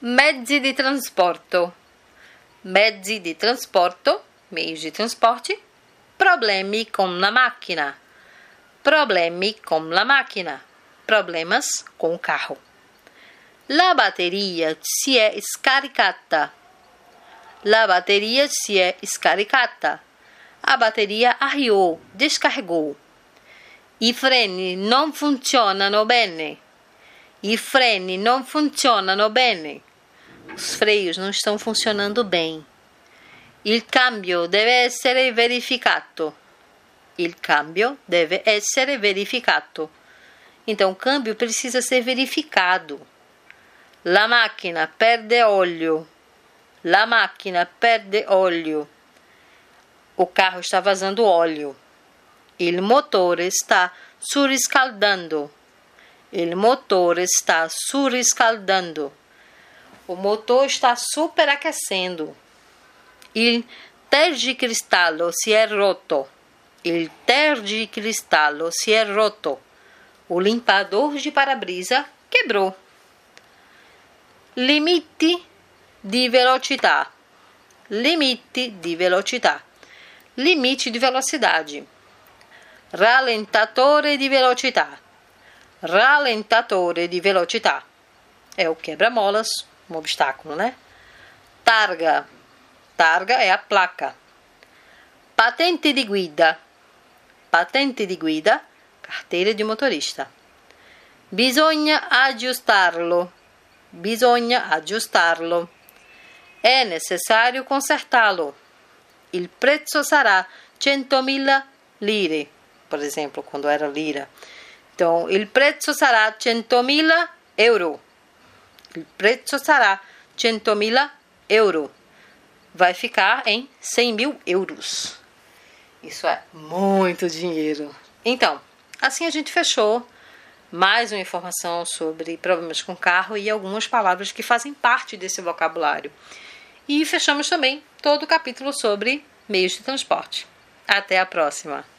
Mezzi di trasporto. Mezzi di trasporto, meios de transporte. Problemi com la macchina. Problemi com la macchina. Problemas com o carro. La batteria si è scaricata. La batteria si è scaricata. A bateria arriou, descarregou. I freni non funzionano bene. I freni non funzionano bene. Os freios não estão funcionando bem. Il cambio deve essere verificato. Il cambio deve essere verificato. Então, o câmbio precisa ser verificado. La macchina perde olio. La macchina perde olio. O carro está vazando óleo. Il motore sta surriscaldando. Il motore sta surriscaldando. O motor está superaquecendo. Il tergicristallo si è rotto. Il tergicristallo si è rotto. O limpador de para-brisa quebrou. Limiti di velocità. Limiti di velocità. Limite de velocidade. Rallentatore di velocità. Rallentatore di velocità. É o quebra-molas, um obstáculo, né? Targa. Targa é a placa. Patente di guida. Patente di guida, carteira de motorista. Bisogna aggiustarlo. Bisogna aggiustarlo. É necessário consertá-lo. Il prezzo sarà 100.000 lire. Por exemplo, quando era lira. Então, il prezzo sarà 100.000 euro. Il prezzo sarà 100.000 euro. Vai ficar em 100.000 euros. Isso é muito dinheiro. Então, assim a gente fechou mais uma informação sobre problemas com carro e algumas palavras que fazem parte desse vocabulário. E fechamos também todo o capítulo sobre meios de transporte. Até a próxima!